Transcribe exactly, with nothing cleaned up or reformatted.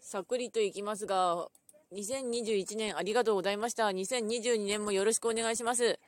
さっくりといきますが、にせんにじゅういちねんありがとうございました。にせんにじゅうにねんもよろしくお願いします。